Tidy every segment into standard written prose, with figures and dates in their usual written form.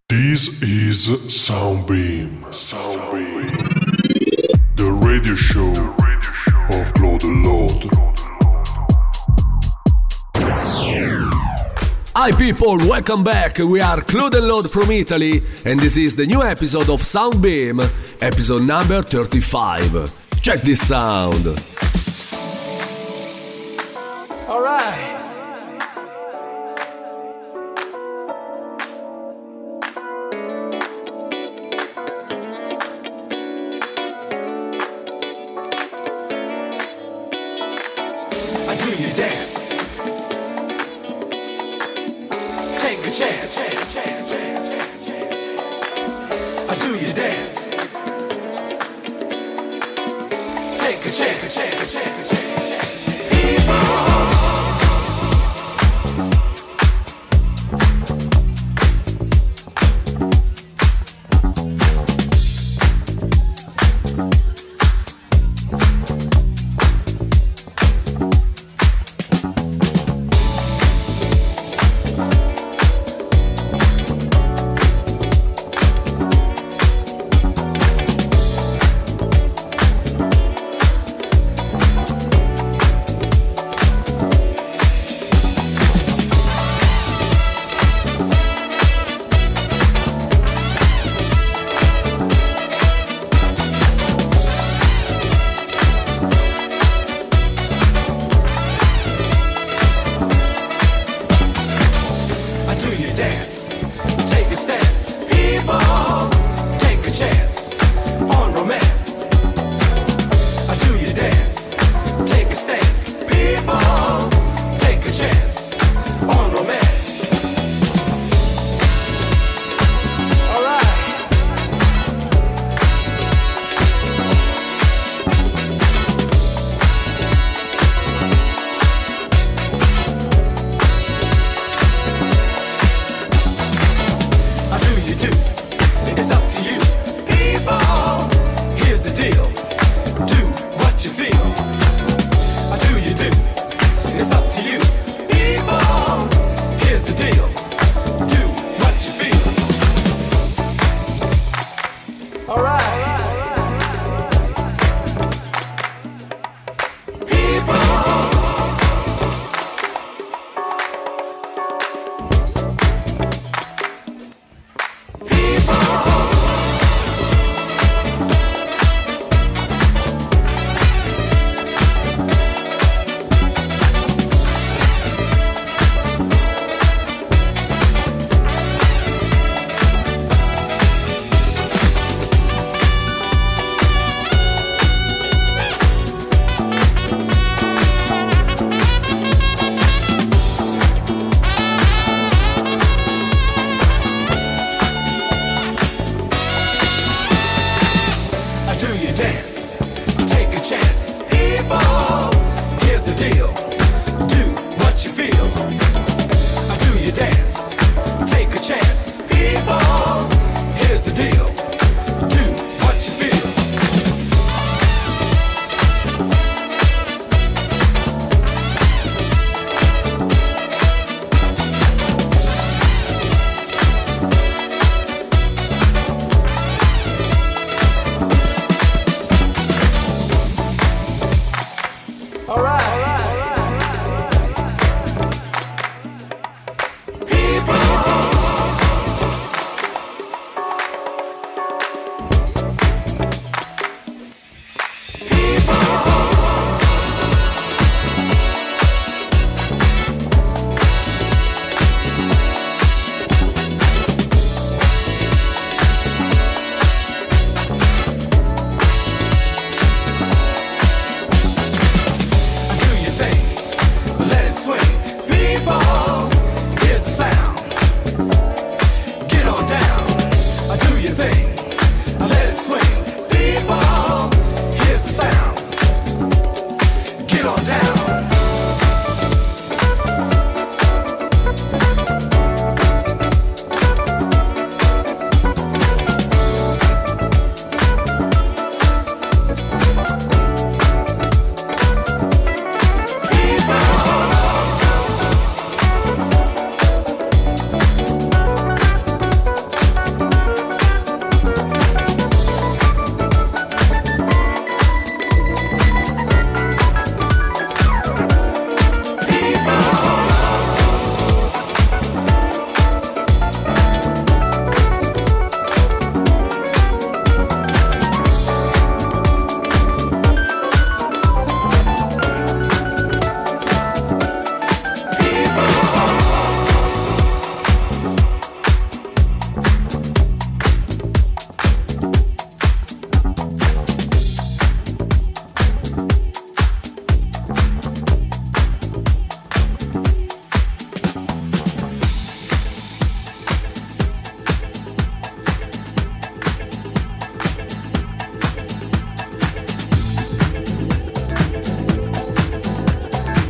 This is Soundbeam. The radio show of Claude Lord. Hi people, welcome back. We are Claude and Lord from Italy, and this is the new episode of Soundbeam, episode number 35. Check this sound. All right. I do you dance. Take a chance. I do you dance. Take a chance. It's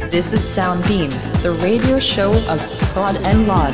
This is Soundbeam, the radio show of Claude and Laud.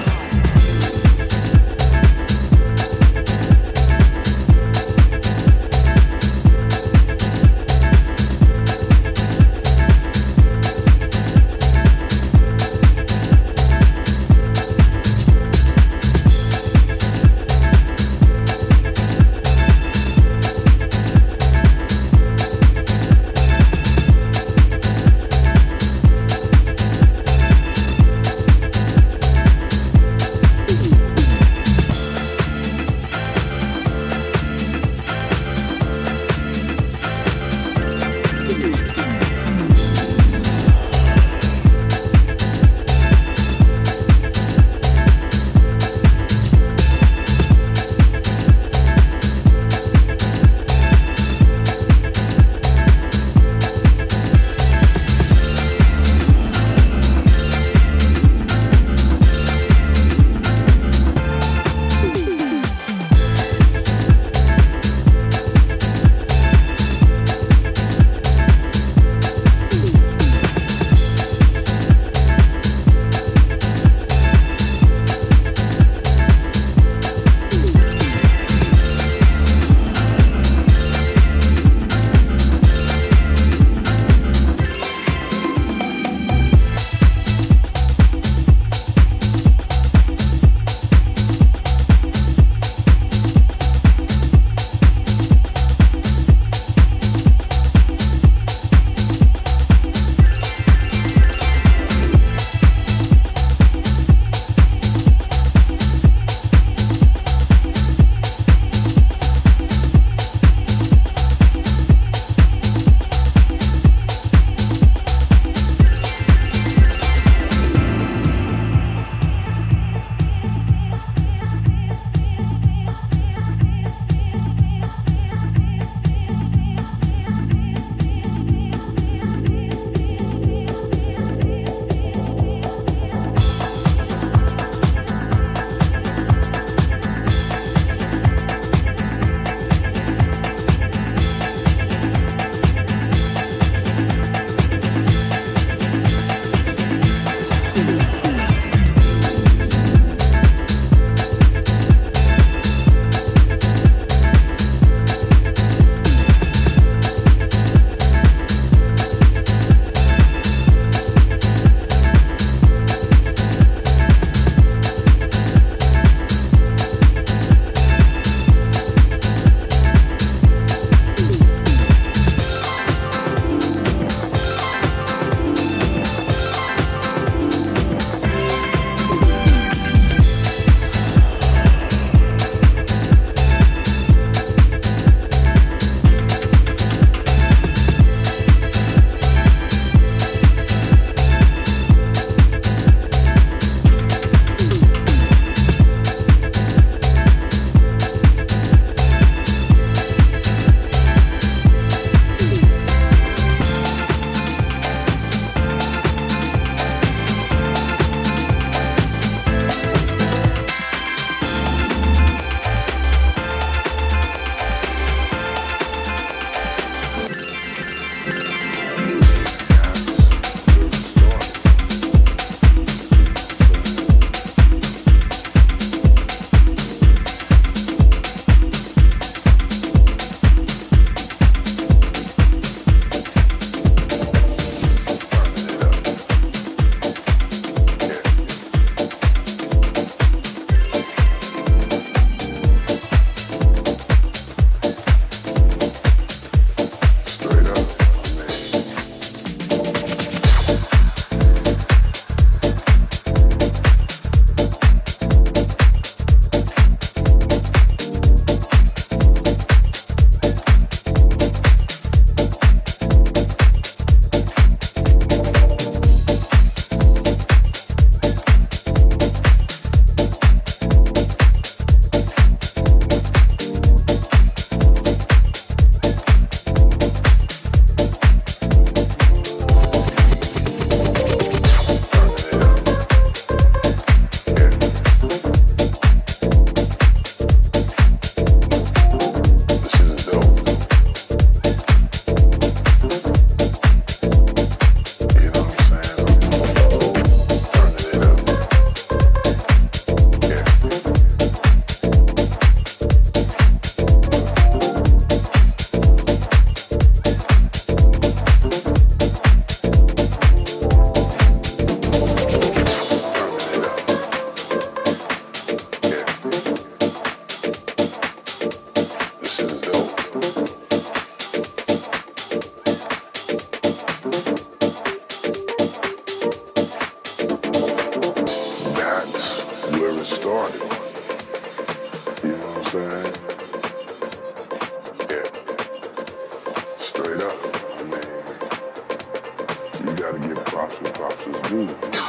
it started. You know what I'm saying? Yeah. Straight up. I mean, you gotta give props where props is due.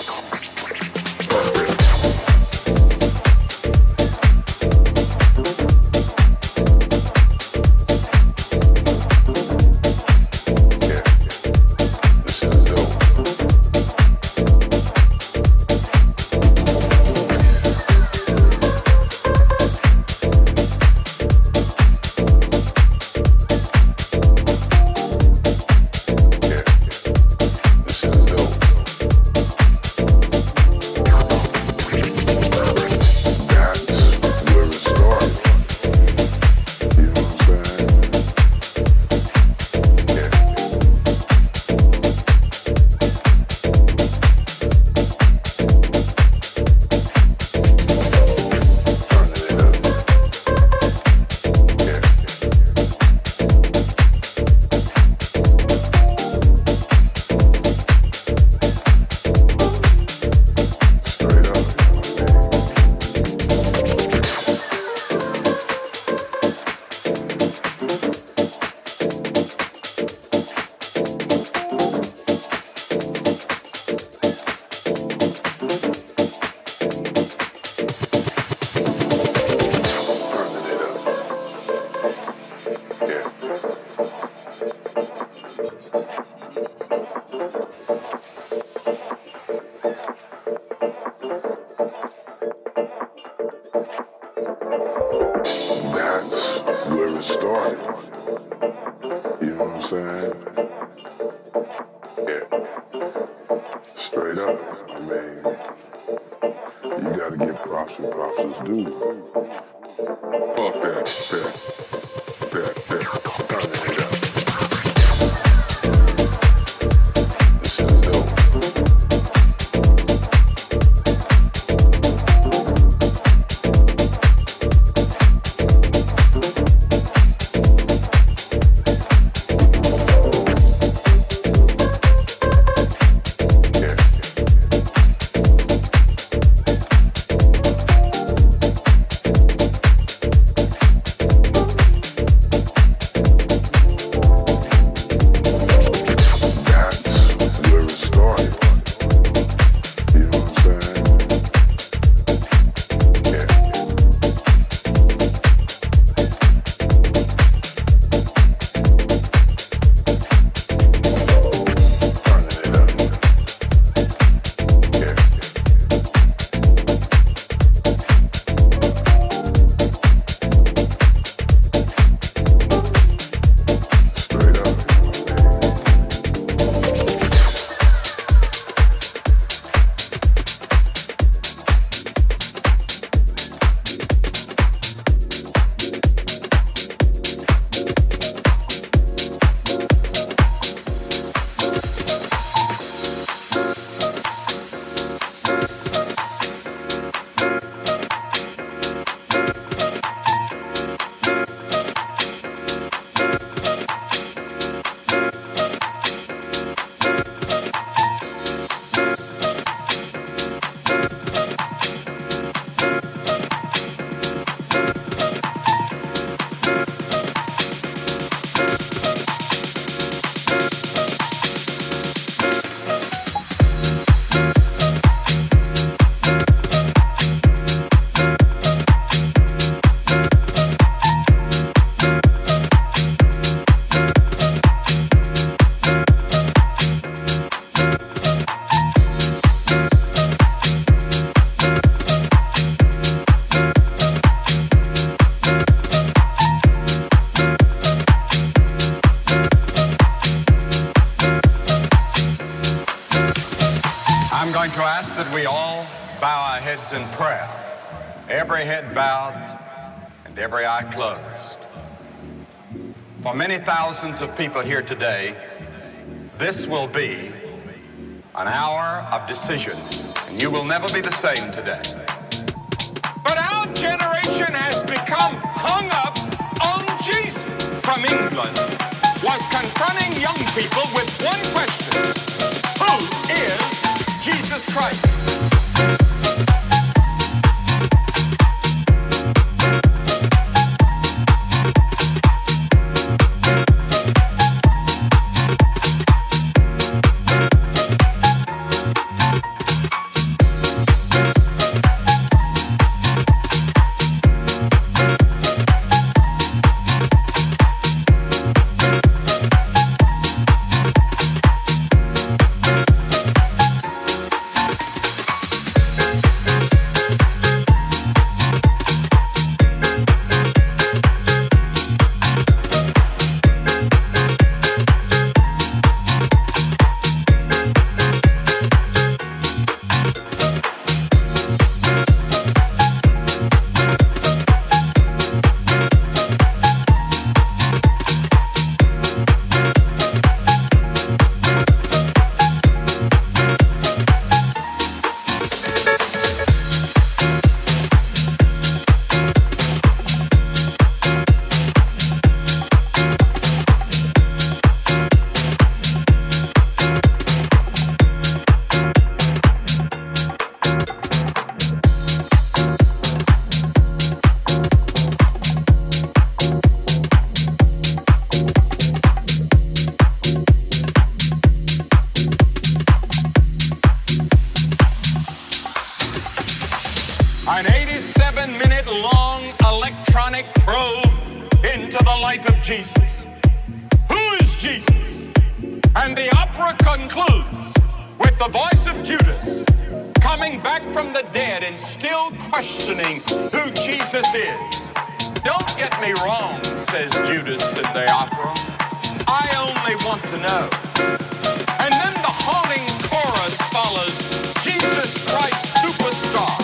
going to ask that we all bow our heads in prayer. Every head bowed and every eye closed. For many thousands of people here today, this will be an hour of decision, and you will never be the same today. But our generation has become hung up on Jesus. From England was confronting young people with one question: who is Jesus Christ? 7-minute-long electronic probe into the life of Jesus. Who is Jesus? And the opera concludes with the voice of Judas coming back from the dead and still questioning who Jesus is. Don't get me wrong, says Judas in the opera. I only want to know. And then the haunting chorus follows, Jesus Christ Superstar.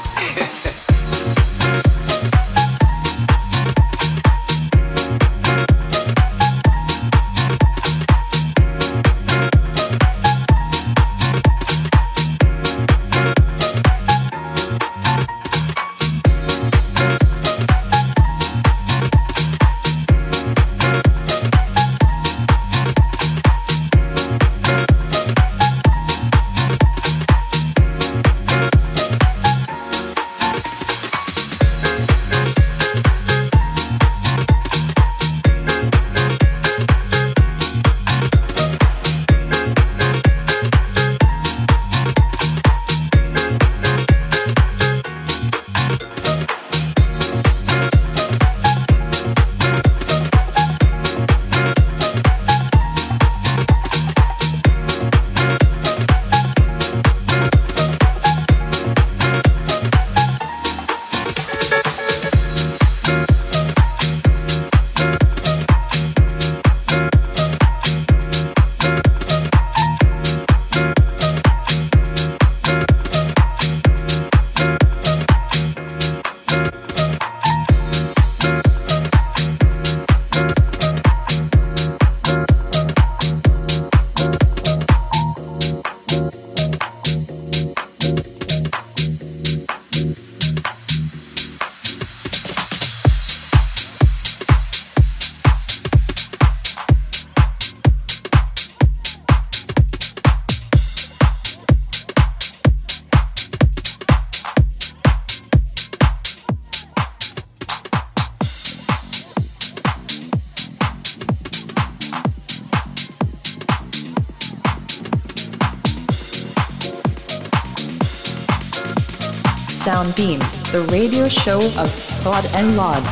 Soundbeam, the radio show of Claude and Laud.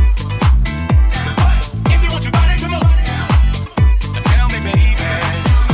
Tell me, baby.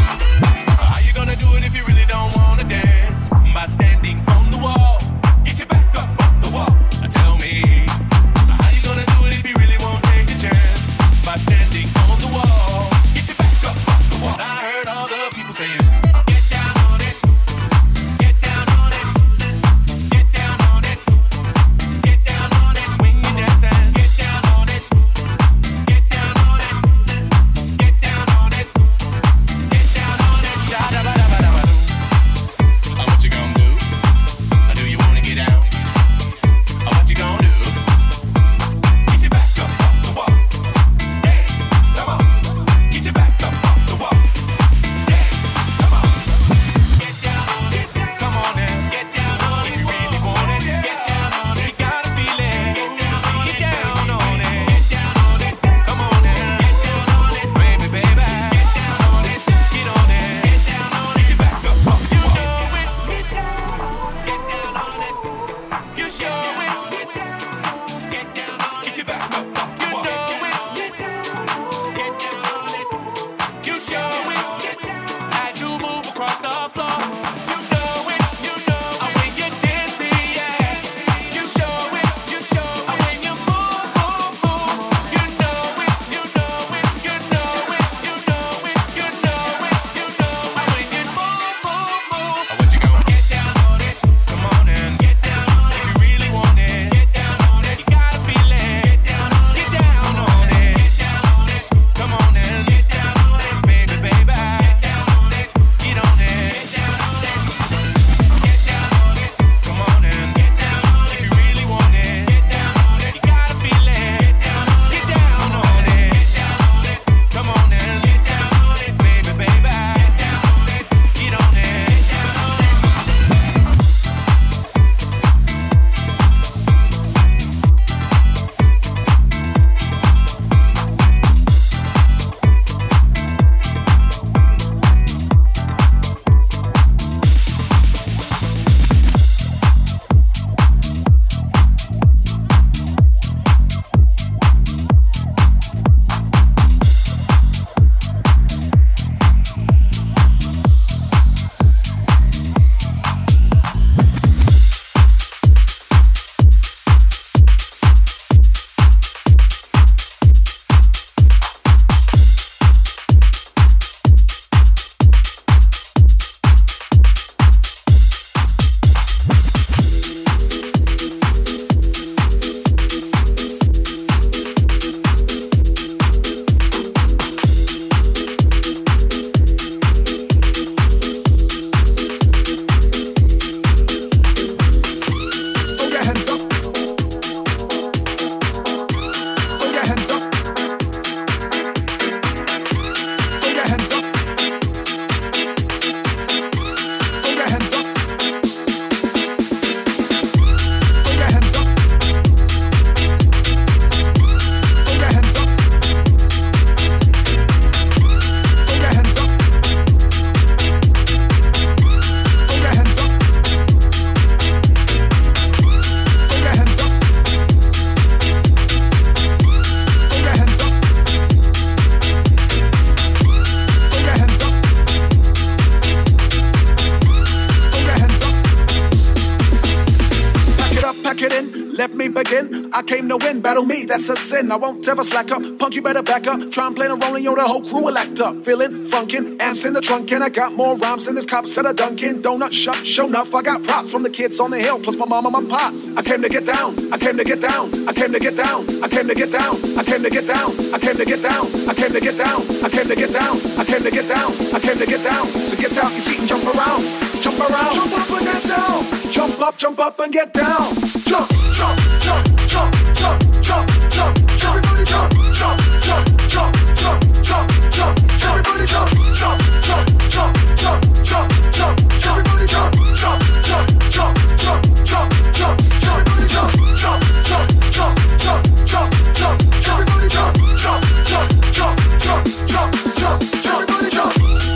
I came to win, battle me, that's a sin. I won't ever slack up, punk you better back up. Try and play a role and yo, the whole crew will act up. Feeling, funkin', amps in the trunk, and I got more rhymes than this cops at a Dunkin' Donut shop. Show enough, I got props from the kids on the hill, plus my mom and my pops. I came to get down, I came to get down, I came to get down, I came to get down, I came to get down, I came to get down, I came to get down, I came to get down, I came to get down, I came to get down. So get out your seat and jump around, jump around, jump up and get down, jump up and get down, jump, jump, jump, jump, jump, jump, jump, jump, everybody jump, jump, jump, jump, jump, jump, jump, everybody jump, jump, jump, jump, jump, jump, jump, everybody jump, jump, jump, jump, jump, jump, jump, everybody jump, jump, jump, jump, jump, jump, jump, everybody jump, jump, jump, jump, jump, jump, jump, everybody jump.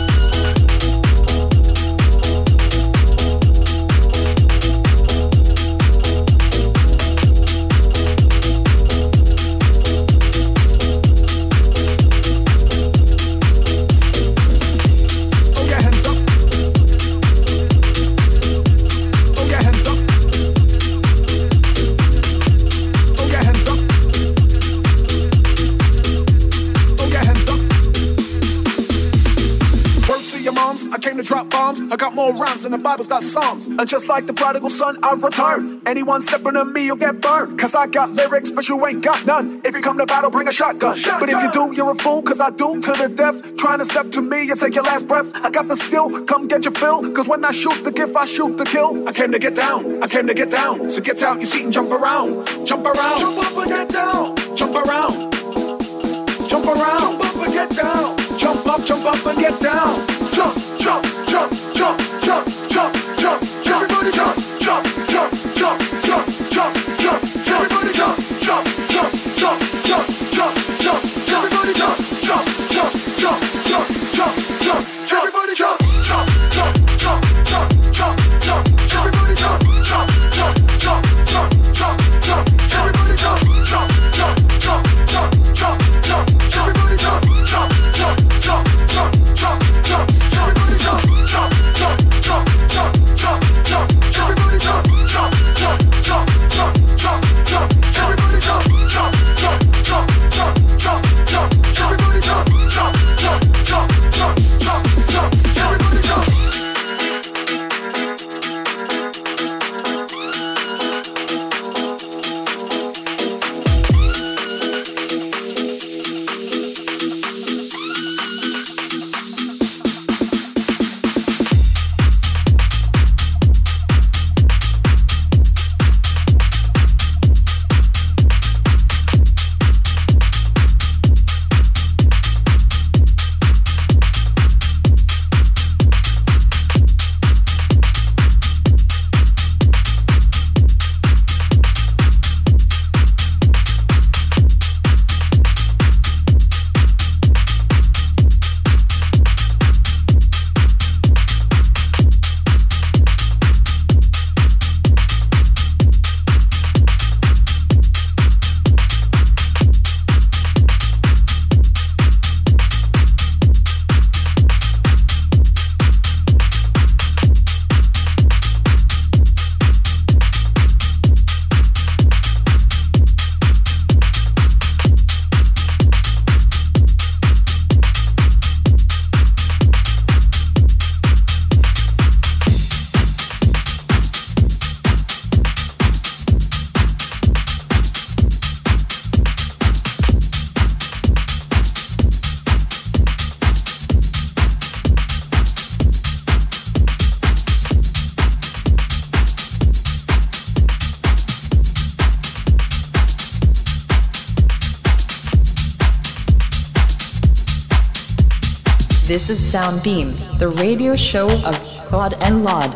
Drop bombs, I got more rhymes than the Bible's got songs. And just like the prodigal son, I return. Anyone stepping on me, you'll get burned. Cause I got lyrics, but you ain't got none. If you come to battle, bring a shotgun. But if you do, you're a fool, cause I do to the death. Trying to step to me, you take your last breath. I got the skill, come get your fill. Cause when I shoot the gift, I shoot the kill. I came to get down, I came to get down. So get out your seat and jump around. Jump around, jump up and get down. Jump around, jump around, jump up and get down. Jump up and get down. Jump, jump, jump, jump, jump, jump, jump, everybody jump, jump, jump, jump, jump, jump, jump, everybody jump, jump, jump, jump, jump, jump, jump, everybody jump, jump, jump, jump, jump, jump, jump, everybody jump, jump, jump, jump, jump, jump, jump, everybody jump, jump, jump, jump, jump, jump, jump, everybody jump, jump, jump, jump, jump, jump, jump, everybody jump, jump, jump, jump, jump, jump, jump, everybody jump, jump, jump, jump, jump, jump, jump, everybody jump, jump, jump, jump, jump, jump, jump, everybody jump, jump, jump, jump, jump, jump, jump, everybody jump, jump, jump, jump, jump, jump, jump, everybody jump. This is Soundbeam, the radio show of Claude and Laud.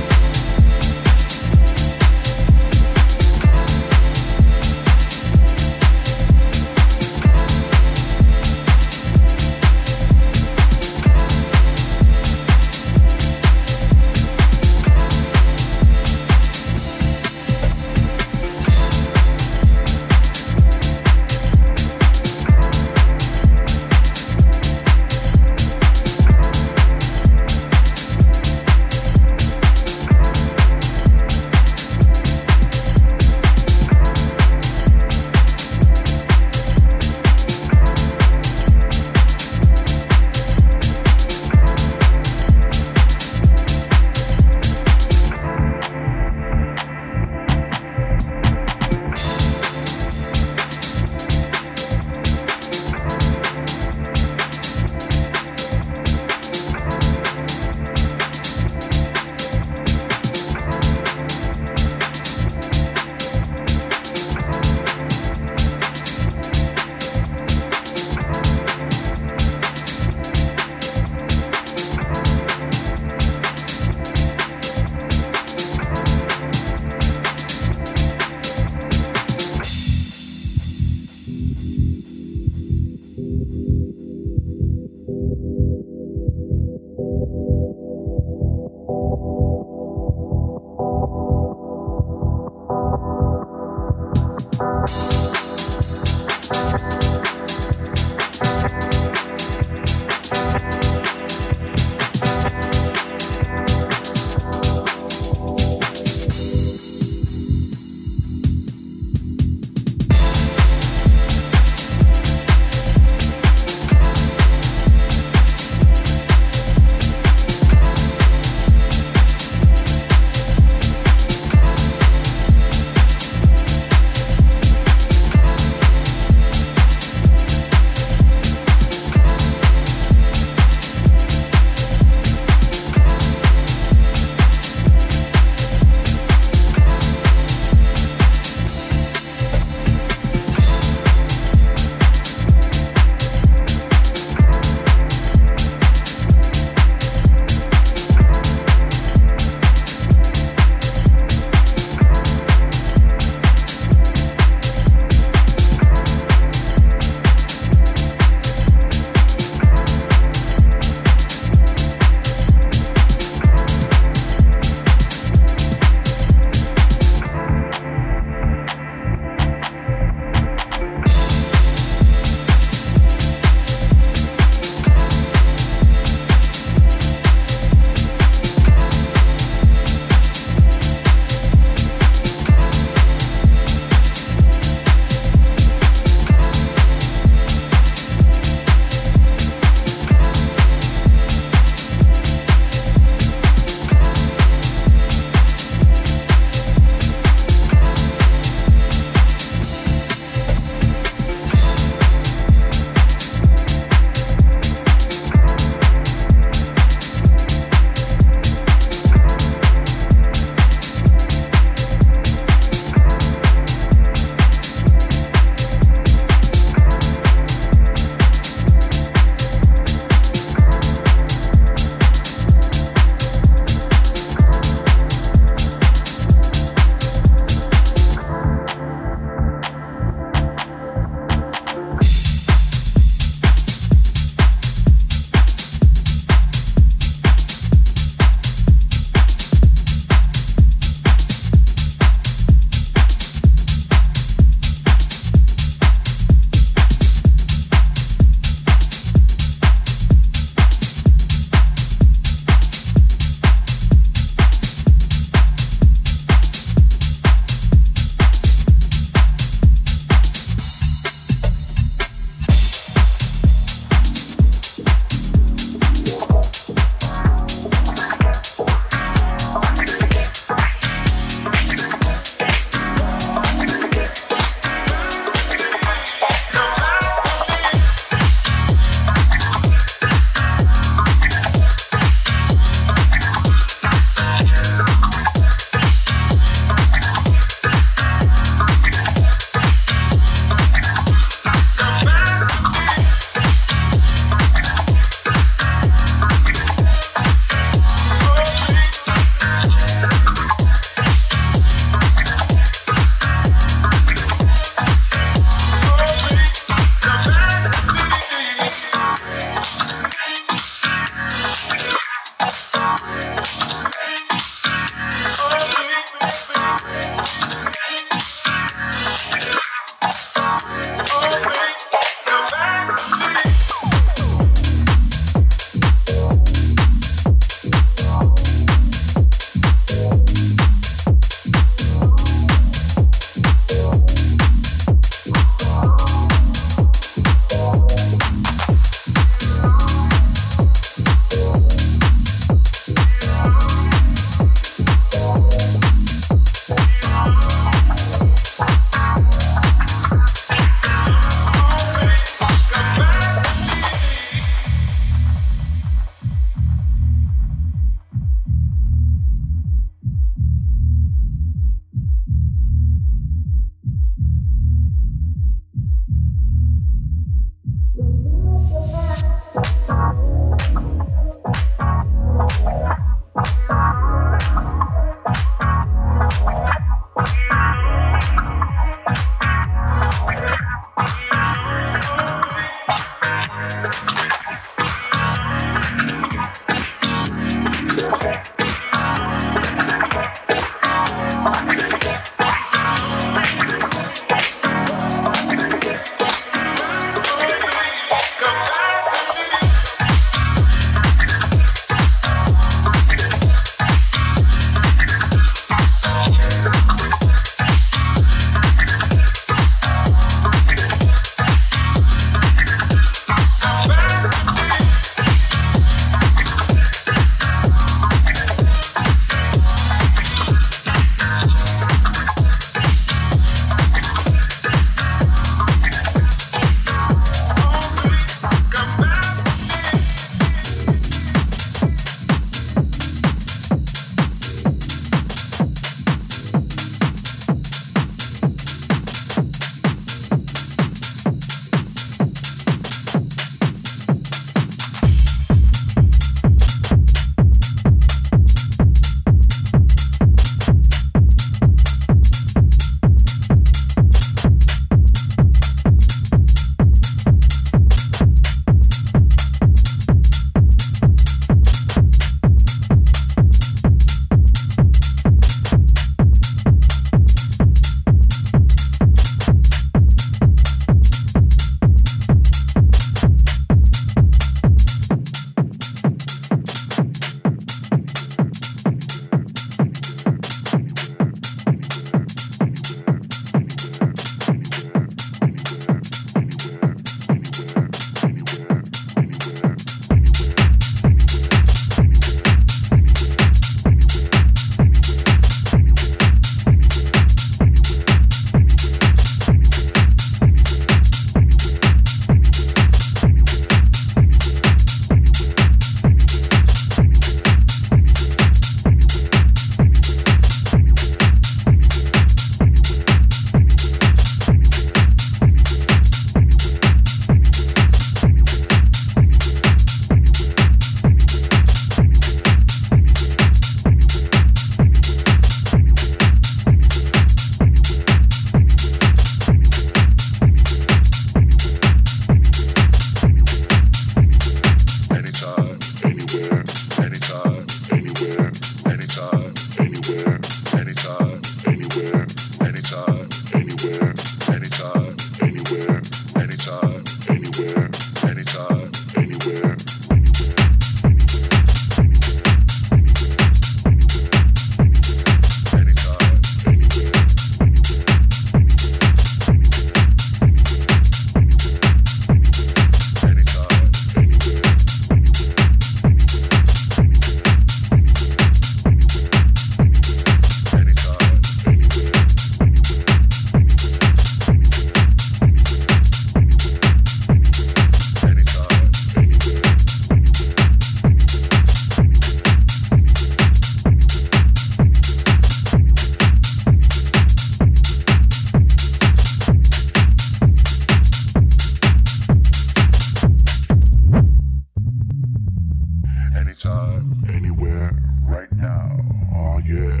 Anytime, anywhere, right now. Oh yeah.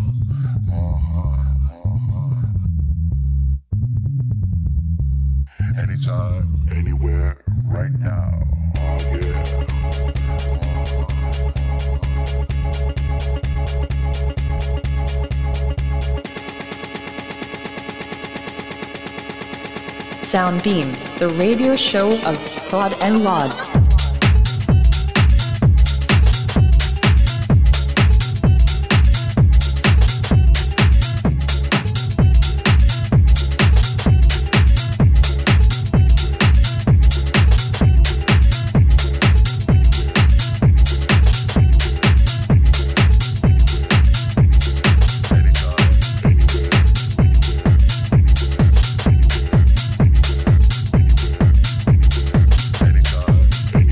Anytime, anywhere, right now. Oh yeah. Soundbeam, the radio show of Claude and Laud. Anytime,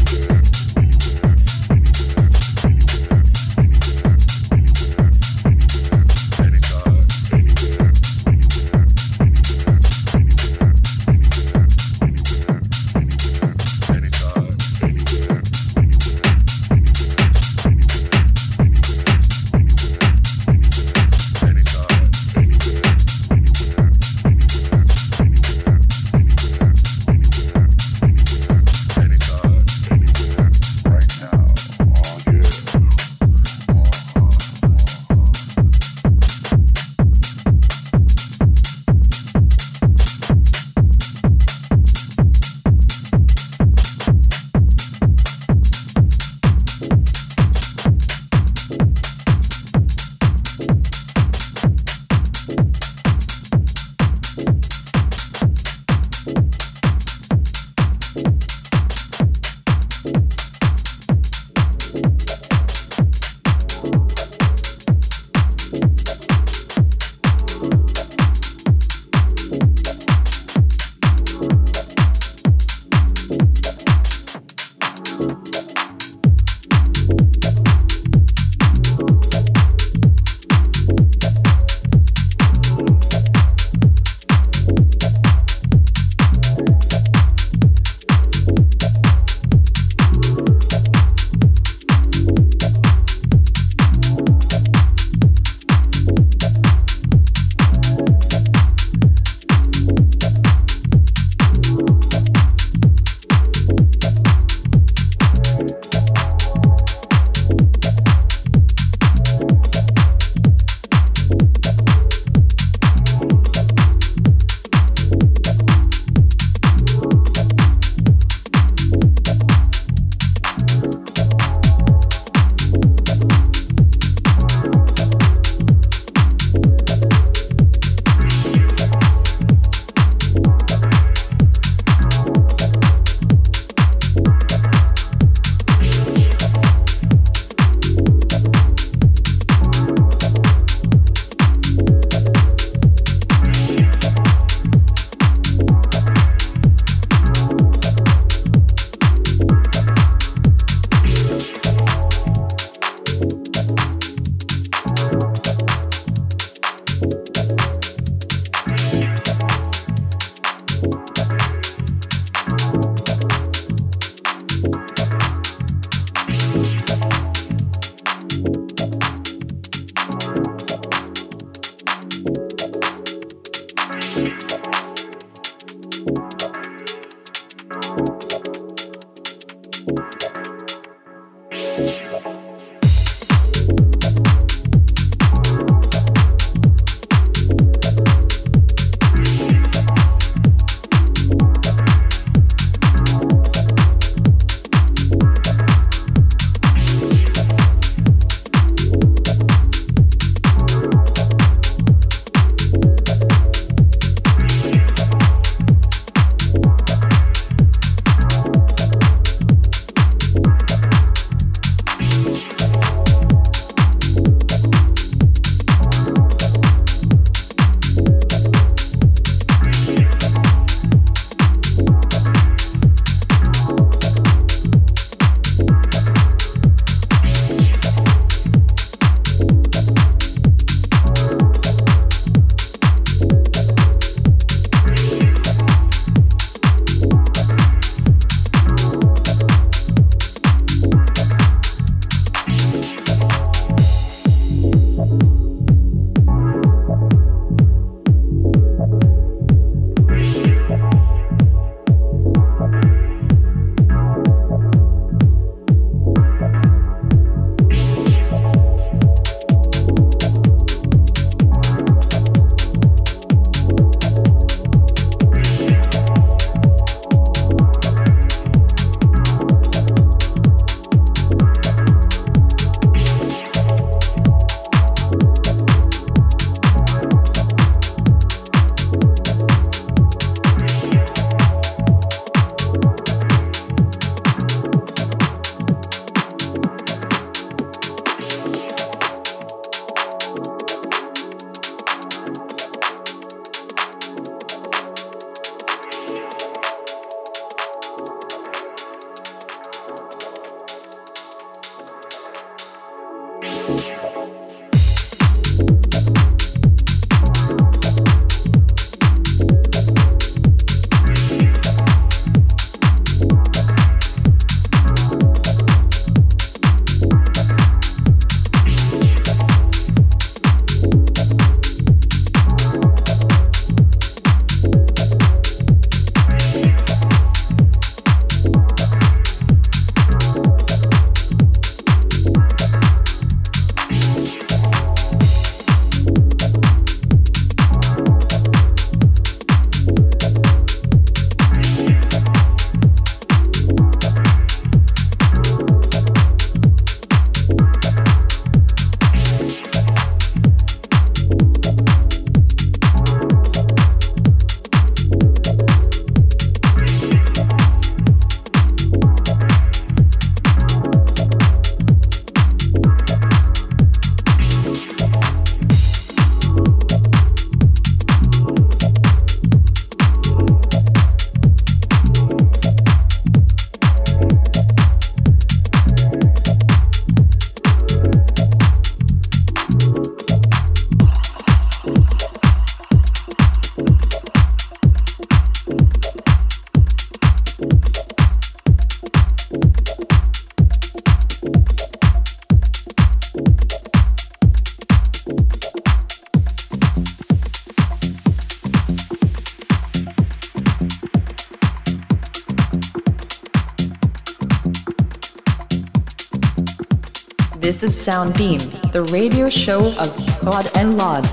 This is Soundbeam, the radio show of Claude and Laud.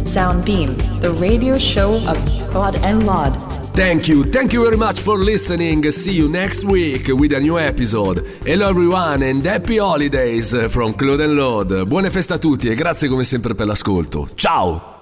Soundbeam, the radio show of Claude and Laud. Thank you very much for listening. See you next week with a new episode. Hello everyone and happy holidays from Claude and Laud. Buone feste a tutti e grazie come sempre per l'ascolto. Ciao!